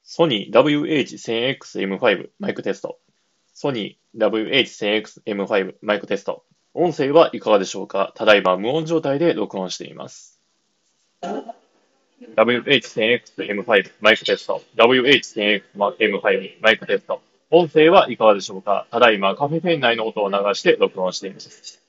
ソニー WH-1000X-M5 マイクテスト。ソニー WH-1000X-M5 マイクテスト。音声はいかがでしょうか？ただいま無音状態で録音しています。WH-1000X-M5 マイクテスト。WH-1000X-M5 マイクテスト。音声はいかがでしょうか？ただいまカフェ店内の音を流して録音しています。